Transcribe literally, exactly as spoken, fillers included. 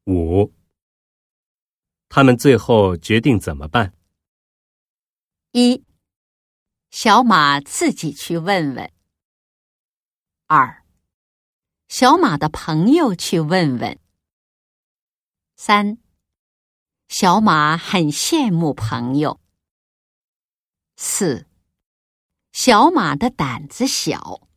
五，他们最后决定怎么办？ 一，小马自己去问问。二，小马的朋友去问问。三，小马很羡慕朋友。四，小马的胆子小。